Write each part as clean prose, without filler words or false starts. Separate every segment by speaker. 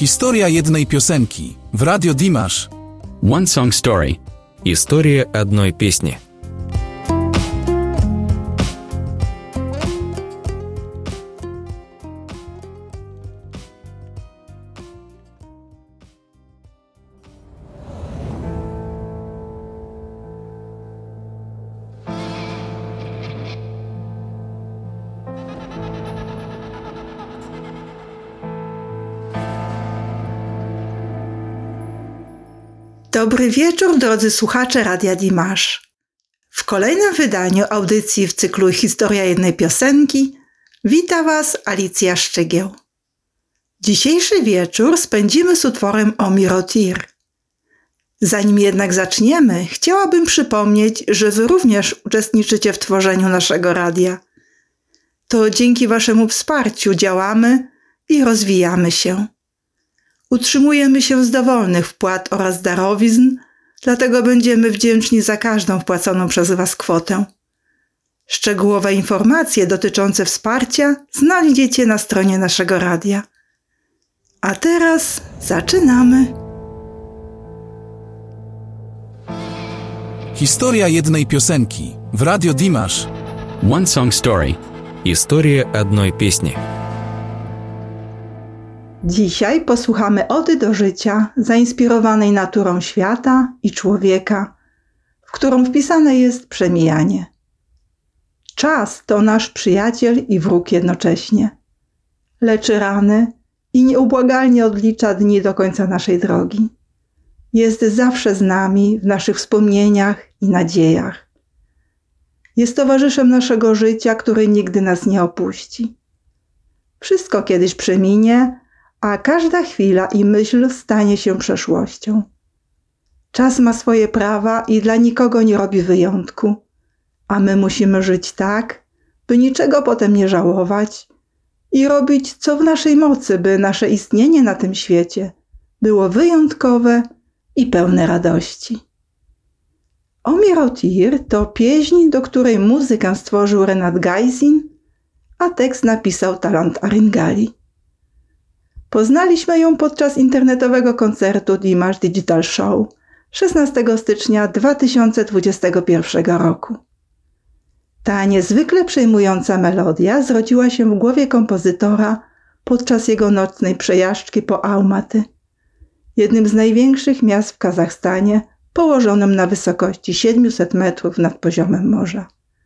Speaker 1: Historia jednej piosenki w Radio Dimash.
Speaker 2: One Song Story. История одной песни.
Speaker 3: Dobry wieczór, drodzy słuchacze Radia Dimash. W kolejnym wydaniu audycji w cyklu Historia jednej piosenki wita Was Alicja Szczygieł. Dzisiejszy wieczór spędzimy z utworem Omir Otir. Zanim jednak zaczniemy, chciałabym przypomnieć, że Wy również uczestniczycie w tworzeniu naszego radia. To dzięki Waszemu wsparciu działamy i rozwijamy się. Utrzymujemy się z dowolnych wpłat oraz darowizn, dlatego będziemy wdzięczni za każdą wpłaconą przez Was kwotę. Szczegółowe informacje dotyczące wsparcia znajdziecie na stronie naszego radia. A teraz zaczynamy.
Speaker 1: Historia jednej piosenki w Radio Dimash.
Speaker 2: One Song Story. История одной песни.
Speaker 3: Dzisiaj posłuchamy ody do życia zainspirowanej naturą świata i człowieka, w którą wpisane jest przemijanie. Czas to nasz przyjaciel i wróg jednocześnie. Leczy rany i nieubłagalnie odlicza dni do końca naszej drogi. Jest zawsze z nami w naszych wspomnieniach i nadziejach. Jest towarzyszem naszego życia, który nigdy nas nie opuści. Wszystko kiedyś przeminie, a każda chwila i myśl stanie się przeszłością. Czas ma swoje prawa i dla nikogo nie robi wyjątku, a my musimy żyć tak, by niczego potem nie żałować i robić co w naszej mocy, by nasze istnienie na tym świecie było wyjątkowe i pełne radości. Omir Otir to pieśń, do której muzykę stworzył Renat Gajsin, a tekst napisał Talant Aringali. Poznaliśmy ją podczas internetowego koncertu Dimash Digital Show 16 stycznia 2021 roku. Ta niezwykle przejmująca melodia zrodziła się w głowie kompozytora podczas jego nocnej przejażdżki po Almaty, jednym z największych miast w Kazachstanie, położonym na wysokości 700 metrów nad poziomem morza.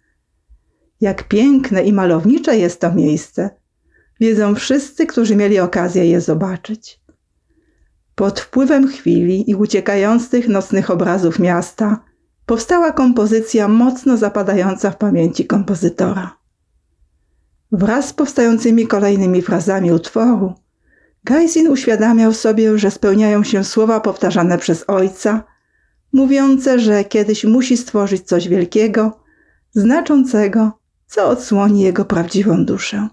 Speaker 3: Jak piękne i malownicze jest to miejsce, wiedzą wszyscy, którzy mieli okazję je zobaczyć. Pod wpływem chwili i uciekających nocnych obrazów miasta powstała kompozycja mocno zapadająca w pamięci kompozytora. Wraz z powstającymi kolejnymi frazami utworu, Gajsin uświadamiał sobie, że spełniają się słowa powtarzane przez ojca, mówiące, że kiedyś musi stworzyć coś wielkiego, znaczącego, co odsłoni jego prawdziwą duszę.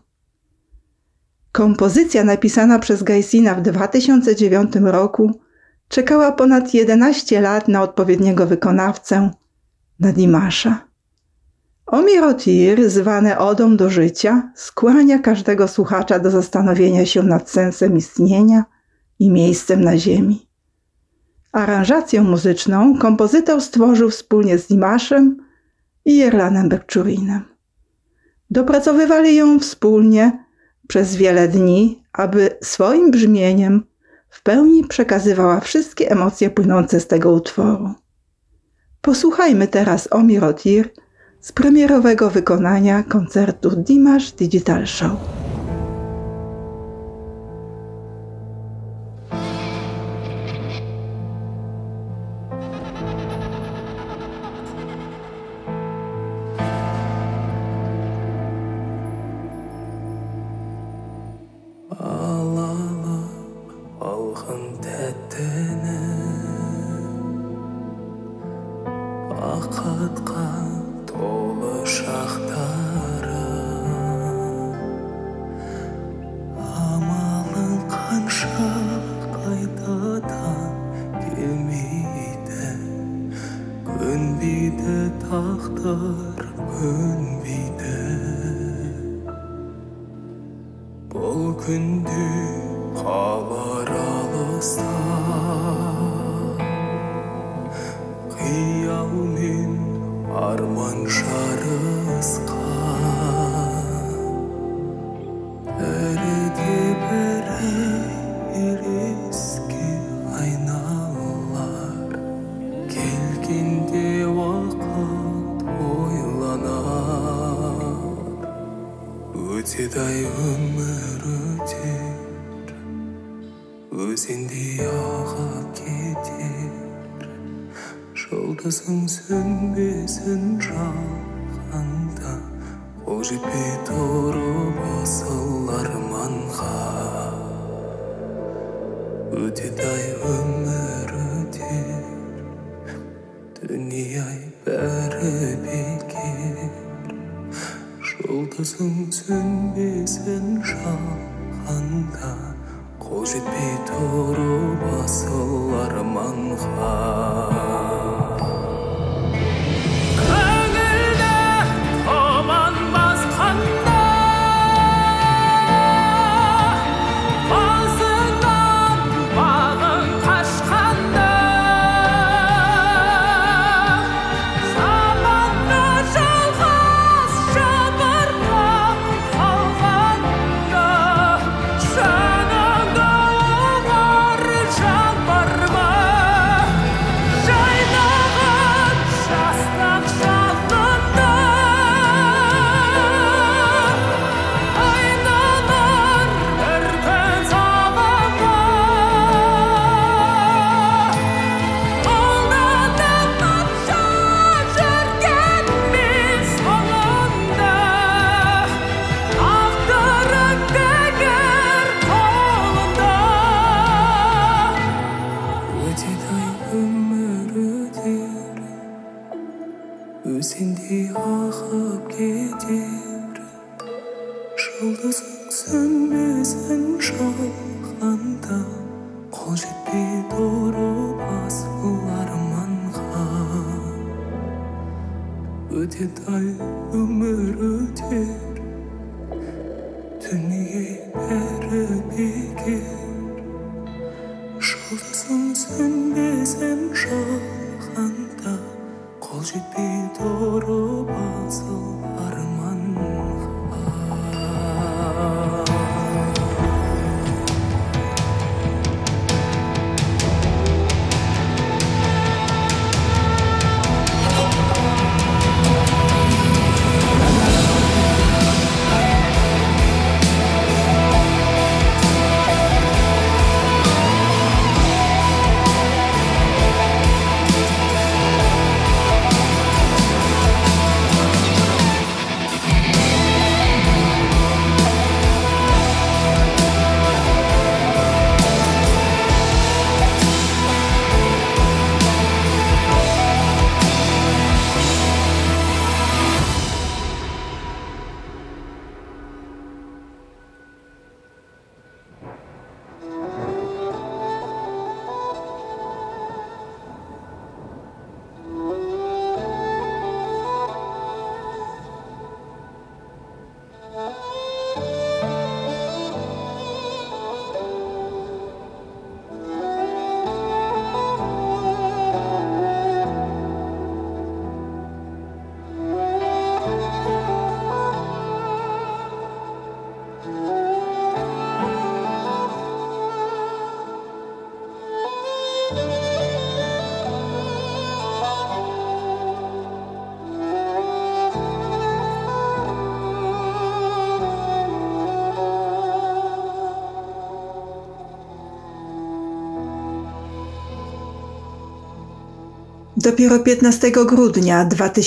Speaker 3: Kompozycja napisana przez Gajsina w 2009 roku czekała ponad 11 lat na odpowiedniego wykonawcę, na Dimasha. Omir Otir, zwane odą do życia, skłania każdego słuchacza do zastanowienia się nad sensem istnienia i miejscem na ziemi. Aranżację muzyczną kompozytor stworzył wspólnie z Dimashem i Yerlanem Bekczurinem. Dopracowywali ją wspólnie przez wiele dni, aby swoim brzmieniem w pełni przekazywała wszystkie emocje płynące z tego utworu. Posłuchajmy teraz Omir Otir z premierowego wykonania koncertu Dimash Digital Show.
Speaker 4: Бақытқа толы шақтары амалың қанша қайтадан келмейді, көнбейді тағдыр, көнбейді. Бұл күнде қалар алыста қиял мен арман жарысқан бәрі бірі елеске айналар келгенде уақыт ойланар өтеді-ай өмір өтер өзендей ағып кетер жұлдызың сөнбесін жағаңда қол жетпей тұрып асыл арманға өтеді-ай өмір өтер дүние-ай бәрі бекер жұлдызың сөнбесін жағаңда қол жетпей тұрып асыл арманға өзендей ағып кетер жұлдызың сөнбесін жағаңда қол жетпей тұрып асыл арманға өтеді-ай өмір өтер дүние бәрі бекер жұлдызың сөнбесін жағаңда қол жетпей тұрып асыл арманға
Speaker 3: Dopiero 15 grudnia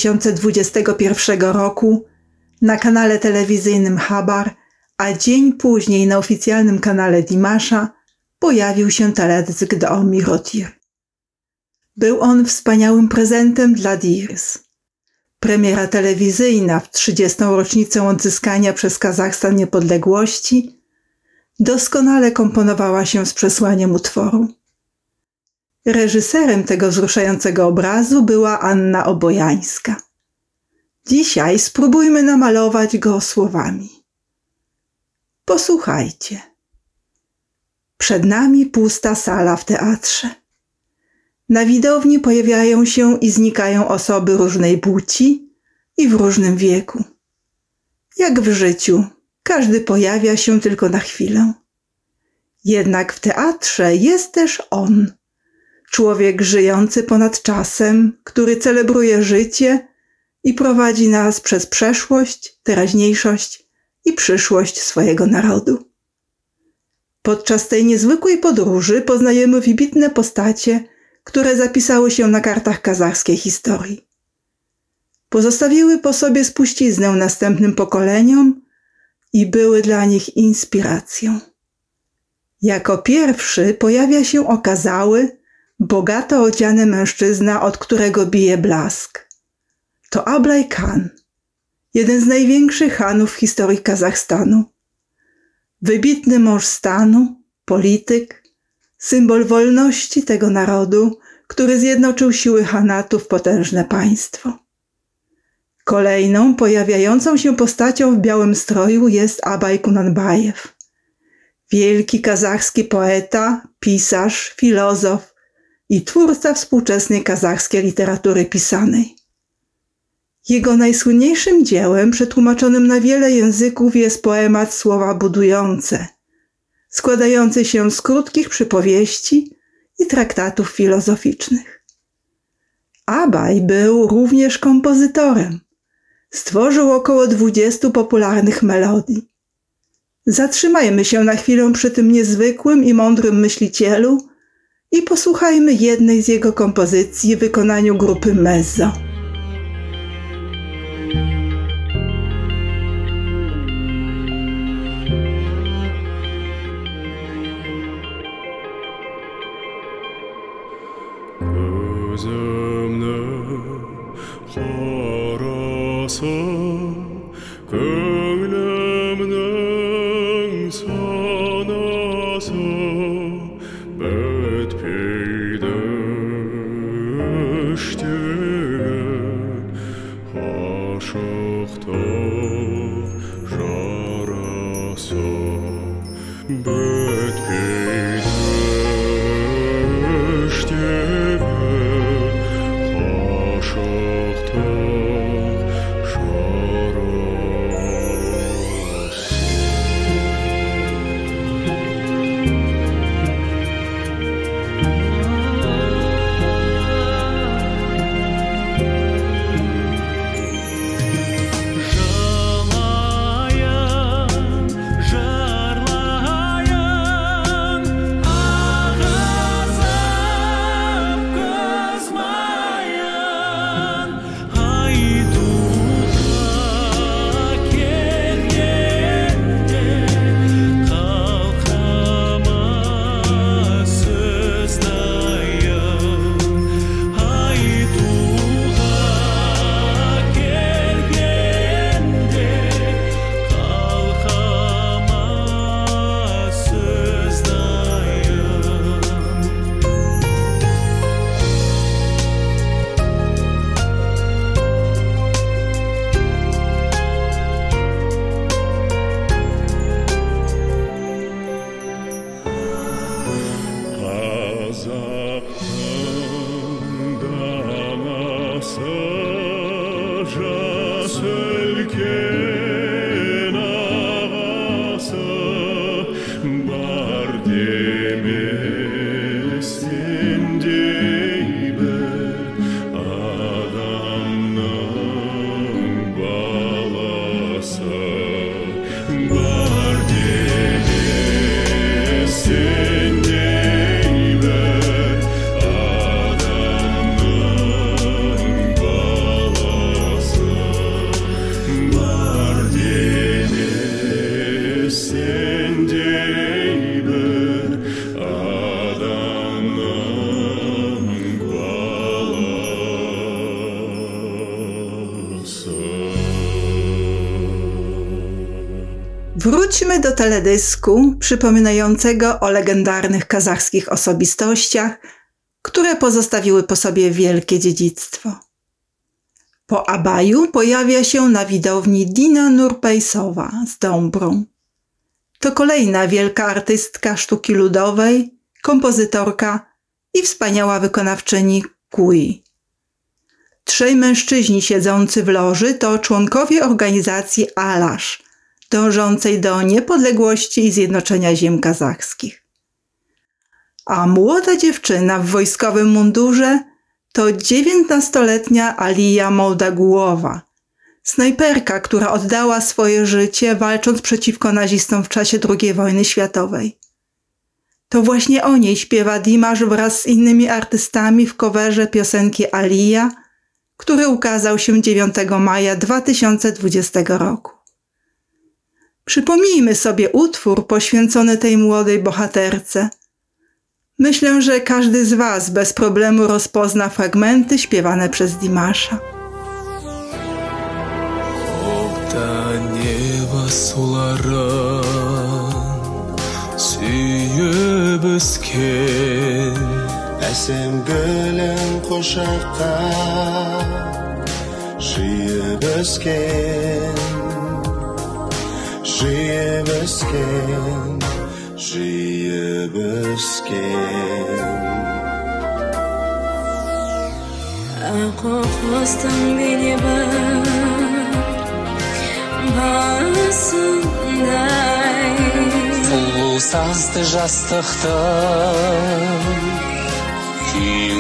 Speaker 3: 2021 roku na kanale telewizyjnym Habar, a dzień później na oficjalnym kanale Dimasza pojawił się teledysk do Omirotir. Był on wspaniałym prezentem dla Dirs. Premiera telewizyjna w 30. rocznicę odzyskania przez Kazachstan niepodległości doskonale komponowała się z przesłaniem utworu. Reżyserem tego wzruszającego obrazu była Anna Obojańska. Dzisiaj spróbujmy namalować go słowami. Posłuchajcie. Przed nami pusta sala w teatrze. Na widowni pojawiają się i znikają osoby różnej płci i w różnym wieku. Jak w życiu, każdy pojawia się tylko na chwilę. Jednak w teatrze jest też on, człowiek żyjący ponad czasem, który celebruje życie i prowadzi nas przez przeszłość, teraźniejszość i przyszłość swojego narodu. Podczas tej niezwykłej podróży poznajemy wybitne postacie, które zapisały się na kartach kazachskiej historii. Pozostawiły po sobie spuściznę następnym pokoleniom i były dla nich inspiracją. Jako pierwszy pojawia się okazały, bogato odziany mężczyzna, od którego bije blask. To Ablaj Khan, jeden z największych chanów w historii Kazachstanu. Wybitny mąż stanu, polityk, symbol wolności tego narodu, który zjednoczył siły chanatu w potężne państwo. Kolejną pojawiającą się postacią w białym stroju jest Abay Kunanbajew. Wielki kazachski poeta, pisarz, filozof i twórca współczesnej kazachskiej literatury pisanej. Jego najsłynniejszym dziełem, przetłumaczonym na wiele języków, jest poemat Słowa budujące, składający się z krótkich przypowieści i traktatów filozoficznych. Abay był również kompozytorem. Stworzył około 20 popularnych melodii. Zatrzymajmy się na chwilę przy tym niezwykłym i mądrym myślicielu i posłuchajmy jednej z jego kompozycji w wykonaniu grupy Mezzo. Wróćmy do teledysku przypominającego o legendarnych kazachskich osobistościach, które pozostawiły po sobie wielkie dziedzictwo. Po Abaju pojawia się na widowni Dina Nurpejsowa z Dąbrą. To kolejna wielka artystka sztuki ludowej, kompozytorka i wspaniała wykonawczyni Kui. Trzej mężczyźni siedzący w loży to członkowie organizacji Alasz, dążącej do niepodległości i zjednoczenia ziem kazachskich. A młoda dziewczyna w wojskowym mundurze to 19-letnia Alija Moldagułowa, snajperka, która oddała swoje życie walcząc przeciwko nazistom w czasie II wojny światowej. To właśnie o niej śpiewa Dimash wraz z innymi artystami w coverze piosenki Alija, który ukazał się 9 maja 2020 roku. Przypomnijmy sobie utwór poświęcony tej młodej bohaterce. Myślę, że każdy z Was bez problemu rozpozna fragmenty śpiewane przez Dimasha.
Speaker 4: Neva sularan sүйіп өскен әсем гүлің қошаққа жиып өскен жиып өскен жиып өскен ақ қостың бейнебі басындай сұлу сазды жастықтың күйін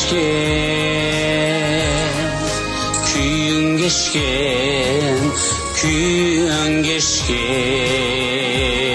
Speaker 4: кешкен күйін кешкен күйін кешкен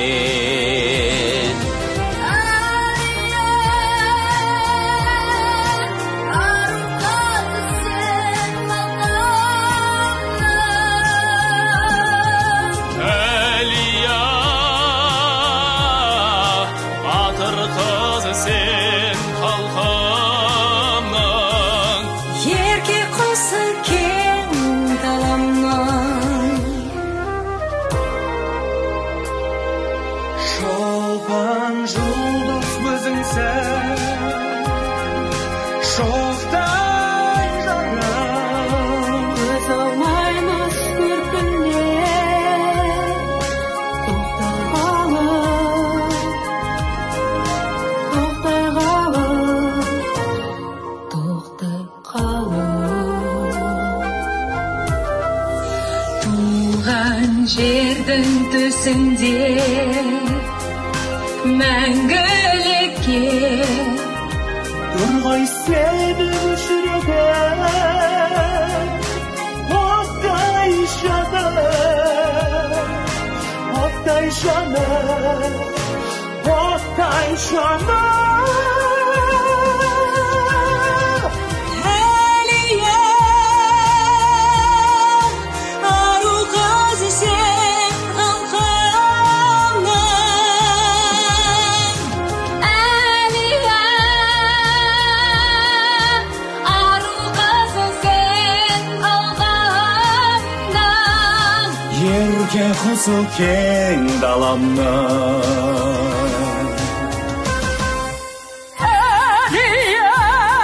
Speaker 4: Шолпан жұлдыз өзіңсің шоқтай жарым көз алмаймыз көркіңнен тоқтай қалып туған жердің төсінде мәңгілікке тұр ғой сенің жүрегің оттай жаным оттай жаным оттай жаным Ерке құсы кең даламның Әлия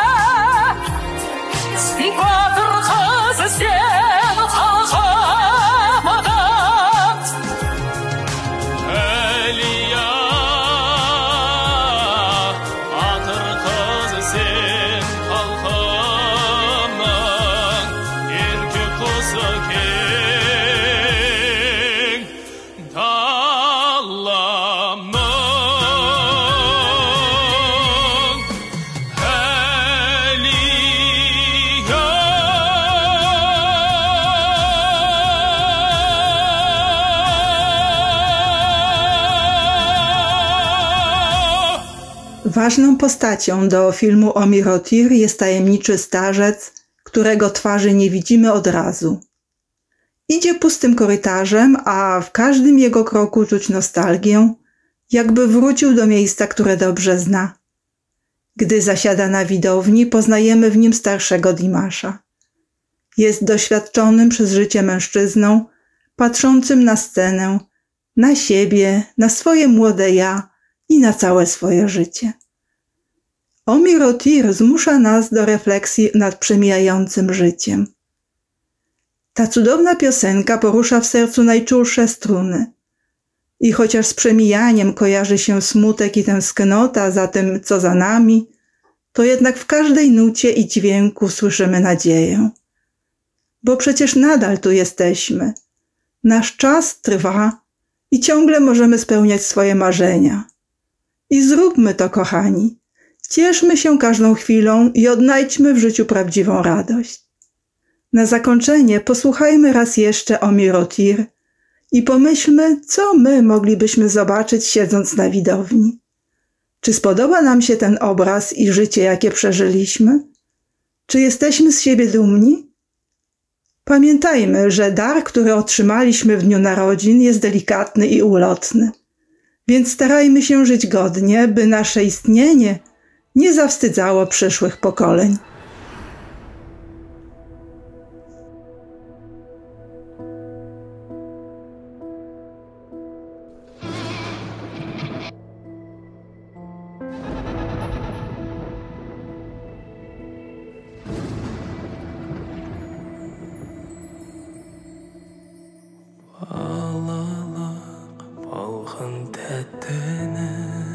Speaker 4: батыр қызы сен қалқамадың Әлия батыр қызы сен қалқамның Ерке құсы кең
Speaker 3: Ważną postacią do filmu Omir Otir jest tajemniczy starzec, którego twarzy nie widzimy od razu. Idzie pustym korytarzem, a w każdym jego kroku czuć nostalgię, jakby wrócił do miejsca, które dobrze zna. Gdy zasiada na widowni, poznajemy w nim starszego Dimasha. Jest doświadczonym przez życie mężczyzną, patrzącym na scenę, na siebie, na swoje młode ja i na całe swoje życie. Omir Otir zmusza nas do refleksji nad przemijającym życiem. Ta cudowna piosenka porusza w sercu najczulsze struny. I chociaż z przemijaniem kojarzy się smutek i tęsknota za tym, co za nami, to jednak w każdej nucie i dźwięku słyszymy nadzieję. Bo przecież nadal tu jesteśmy. Nasz czas trwa i ciągle możemy spełniać swoje marzenia. I zróbmy to, kochani. Cieszmy się każdą chwilą i odnajdźmy w życiu prawdziwą radość. Na zakończenie posłuchajmy raz jeszcze o Mirotir i pomyślmy, co my moglibyśmy zobaczyć siedząc na widowni. Czy spodoba nam się ten obraz i życie, jakie przeżyliśmy? Czy jesteśmy z siebie dumni? Pamiętajmy, że dar, który otrzymaliśmy w dniu narodzin, jest delikatny i ulotny. Więc starajmy się żyć godnie, by nasze istnienie nie zawstydzało przyszłych pokoleń.
Speaker 5: Балалық балғын тәттіні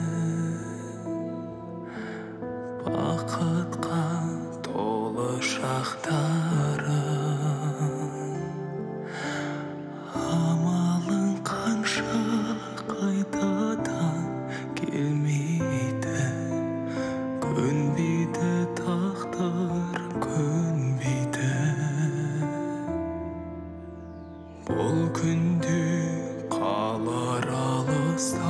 Speaker 5: бақытқа толы шақтары амалың қанша қайтадан келмейді көнбейді тағдыр көнбейді бұл күнде қалар алыста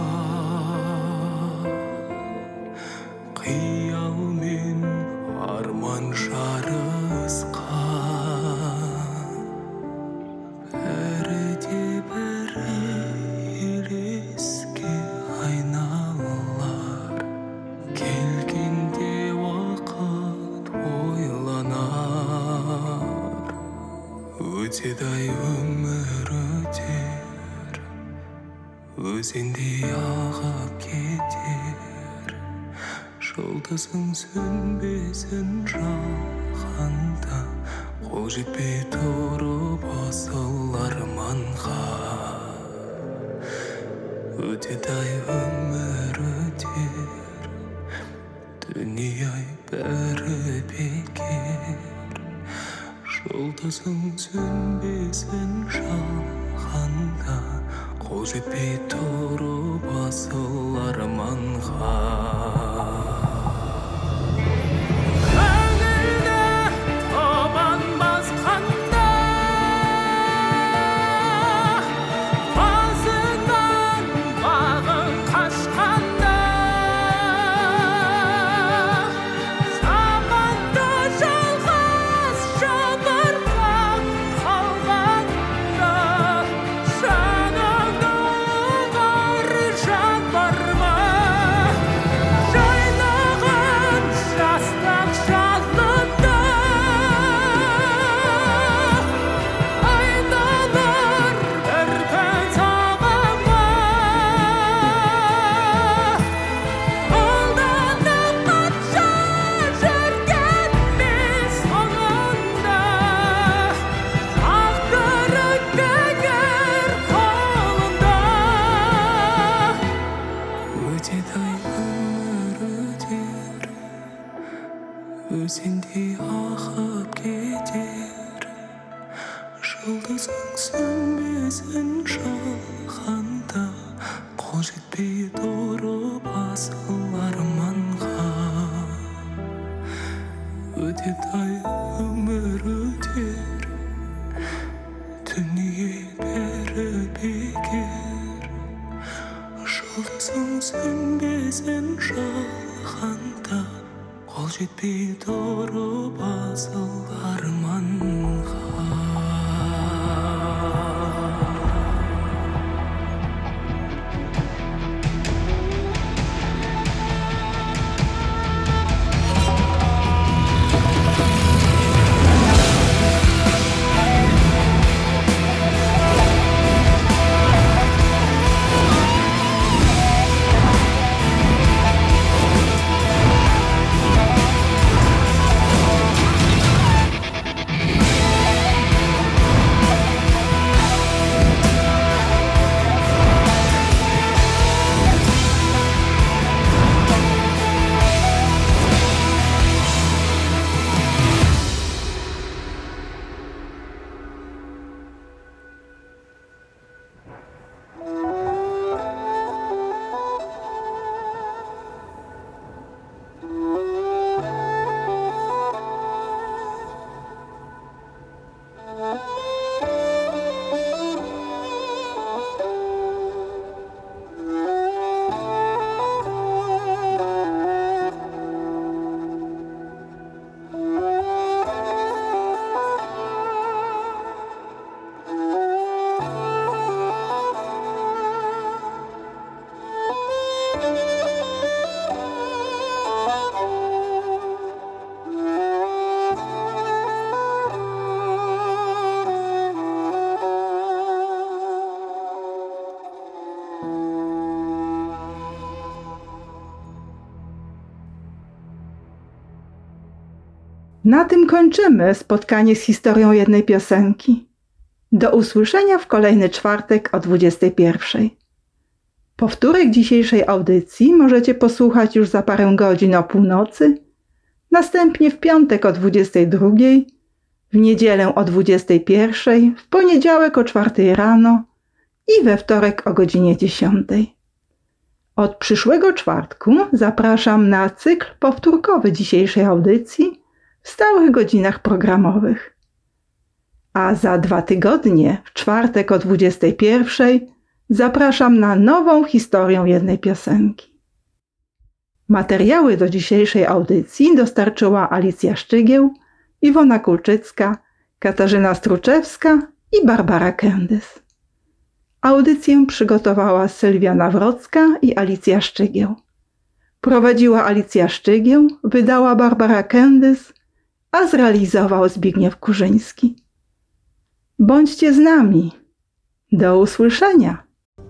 Speaker 5: қиял мен арман жарысқан бәрі де бірі елеске айналар келгенде уақыт ойланар өтеді-ай өмір өтер өзендей ағып кетер жұлдызың сөнбесін жалғанда қол жетпей тұрып асыл арманға өтеді-ай өмір өтер дүние-ай бәрі бекер жұлдызың сөнбесін жалғанда қол жетпей тұрып асыл арманға көңілді тұман басқанда басынан бағың қашқанда заманды жалғыз жабырқап қалғанда жаныңда бар жан бар ма жайнаған жастық жалында айналар бір күн сағыма қолданып қанша жүргенмен соңында тағдыры бекер қолында өтеді-ай өмір өтер өзендей ағып кетер жұлдызың сөнбесін жалғанда қол жетпей тұрып асыл арманға өтеді-ай өмір өтер дүние бәрі бекер жұлдызың сөнбесін жалғанда қол жетпей тұрып асыл арманға
Speaker 3: Na tym kończymy spotkanie z historią jednej piosenki. Do usłyszenia w kolejny czwartek o 21:00. Powtórek dzisiejszej audycji możecie posłuchać już za parę godzin o północy, następnie w piątek o 22:00, w niedzielę o 21:00, w poniedziałek o 4:00 rano i we wtorek o godzinie 10:00. Od przyszłego czwartku zapraszam na cykl powtórkowy dzisiejszej audycji w stałych godzinach programowych. A za 2 tygodnie, w czwartek o 21:00, zapraszam na nową historię jednej piosenki. Materiały do dzisiejszej audycji dostarczyła Alicja Szczygieł, Iwona Kulczycka, Katarzyna Struczewska i Barbara Kędys. Audycję przygotowała Sylwia Nawrocka i Alicja Szczygieł. Prowadziła Alicja Szczygieł, wydała Barbara Kędys, a zrealizował Zbigniew Kurzyński. Bądźcie z nami. Do usłyszenia.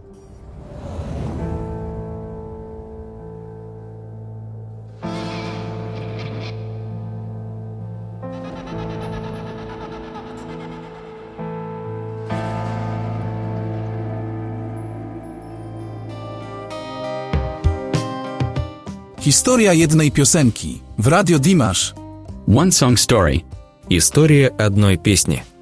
Speaker 1: Historia jednej piosenki w Radio Dimash.
Speaker 2: One Song Story. История одной песни.